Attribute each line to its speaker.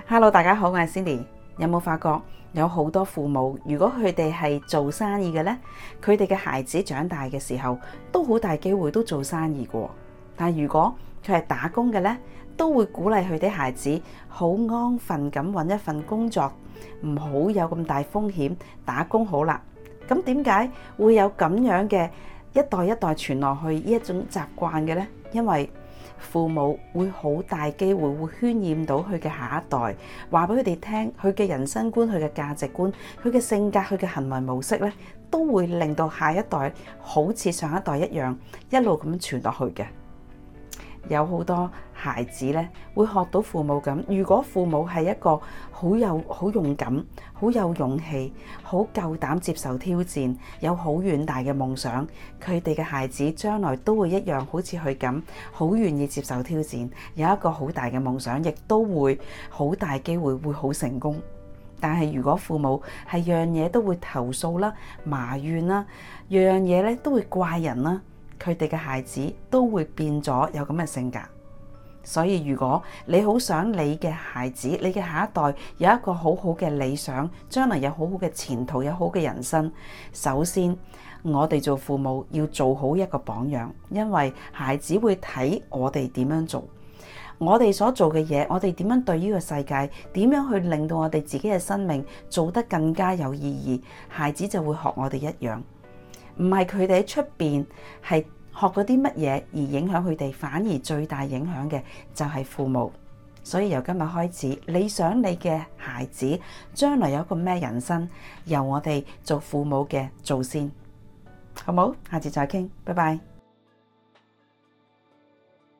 Speaker 1: Hello，大家好，我係 Cindy。有冇發覺有好多父母，如果佢哋係做生意嘅呢，佢哋嘅孩子長大嘅時候，都好大機會都做生意嘅。但如果佢係打工嘅呢，都會鼓勵佢啲孩子好安分咁揾一份工作，唔好有咁大風險，打工好啦。咁點解會有咁樣嘅一代一代傳落去呢一種習慣嘅呢？因為父母會好大機會會渲染到佢嘅下一代，話俾佢哋聽佢嘅人生觀、佢嘅價值觀、佢嘅性格、佢嘅行為模式咧，都會令到下一代好似上一代一樣，一路咁傳落去嘅。有好多孩子咧會學到父母咁。如果父母係一個好勇敢、好有勇氣、好夠膽接受挑戰、有好遠大嘅夢想，佢哋嘅孩子將來都會一樣，好似佢咁，好願意接受挑戰，有一個好大嘅夢想，亦都會好大機會會好成功。但係如果父母係樣嘢都會投訴啦、埋怨啦，樣嘢咧都會怪人啦，佢哋嘅孩子都會變咗有咁嘅性格。所以如果你好想你嘅孩子、你嘅下一代有一個好好嘅理想，將來有好好嘅前途、有好嘅人生，首先我哋做父母要做好一個榜樣，因為孩子會睇我哋點樣做，我哋所做嘅嘢，我哋點樣對呢個世界，點樣去令到我哋自己嘅生命做得更加有意義，孩子就會學我哋一樣。唔係佢哋喺出邊係學嗰啲乜嘢而影響佢哋，反而最大影響嘅就係父母。所以由今日開始，你想你嘅孩子將來有一個咩人生，由我哋做父母嘅做先，好冇？下次再傾，拜拜。